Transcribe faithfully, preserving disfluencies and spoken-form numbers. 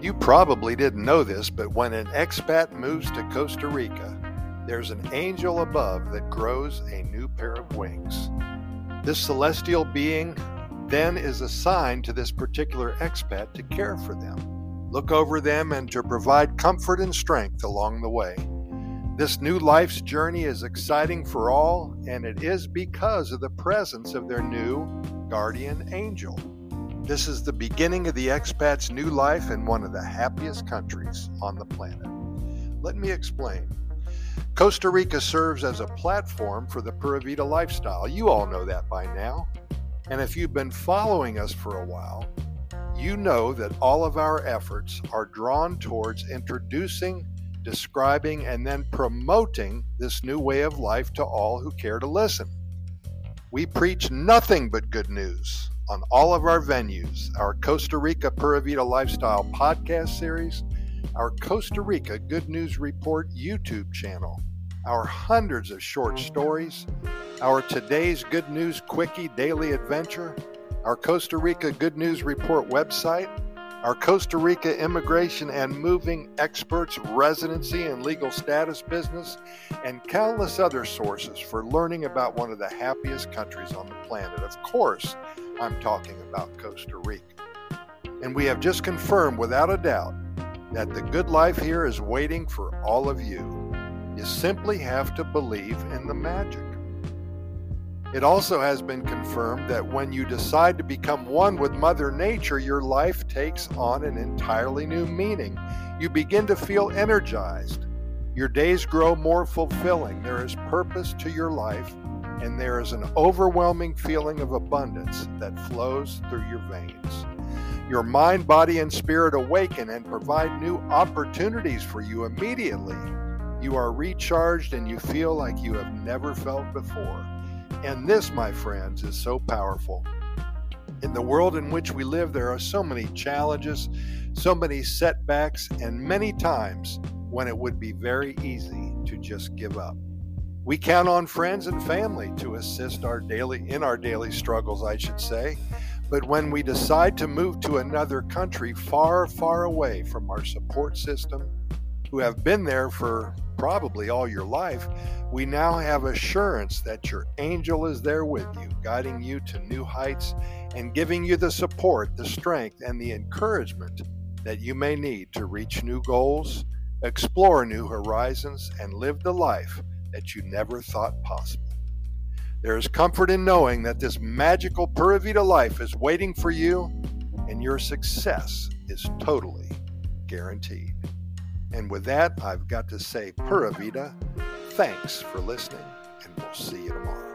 You probably didn't know this, but when an expat moves to Costa Rica, there's an angel above that grows a new pair of wings. This celestial being then is assigned to this particular expat to care for them, look over them, and to provide comfort and strength along the way. This new life's journey is exciting for all, and it is because of the presence of their new guardian angel. This is the beginning of the expat's new life in one of the happiest countries on the planet. Let me explain. Costa Rica serves as a platform for the Pura Vida lifestyle. You all know that by now. And if you've been following us for a while, you know that all of our efforts are drawn towards introducing, describing, and then promoting this new way of life to all who care to listen. We preach nothing but good news on all of our venues, our Costa Rica Pura Vida Lifestyle podcast series, our Costa Rica Good News Report YouTube channel, our hundreds of short stories, our Today's Good News Quickie Daily Adventure, our Costa Rica Good News Report website, our Costa Rica Immigration and Moving Experts Residency and Legal Status business, and countless other sources for learning about one of the happiest countries on the planet. Of course, I'm talking about Costa Rica. And we have just confirmed without a doubt that the good life here is waiting for all of you. You simply have to believe in the magic. It also has been confirmed that when you decide to become one with Mother Nature, your life takes on an entirely new meaning. You begin to feel energized. Your days grow more fulfilling. There is purpose to your life, and there is an overwhelming feeling of abundance that flows through your veins. Your mind, body, and spirit awaken and provide new opportunities for you immediately. You are recharged and you feel like you have never felt before. And this, my friends, is so powerful. In the world in which we live, there are so many challenges, so many setbacks, and many times when it would be very easy to just give up. We count on friends and family to assist our daily in our daily struggles, I should say. But when we decide to move to another country far, far away from our support system, who have been there for probably all your life, we now have assurance that your angel is there with you, guiding you to new heights and giving you the support, the strength, and the encouragement that you may need to reach new goals, explore new horizons, and live the life that you never thought possible. There is comfort in knowing that this magical Pura Vida life is waiting for you, and your success is totally guaranteed. And with that, I've got to say, Pura Vida, thanks for listening, and we'll see you tomorrow.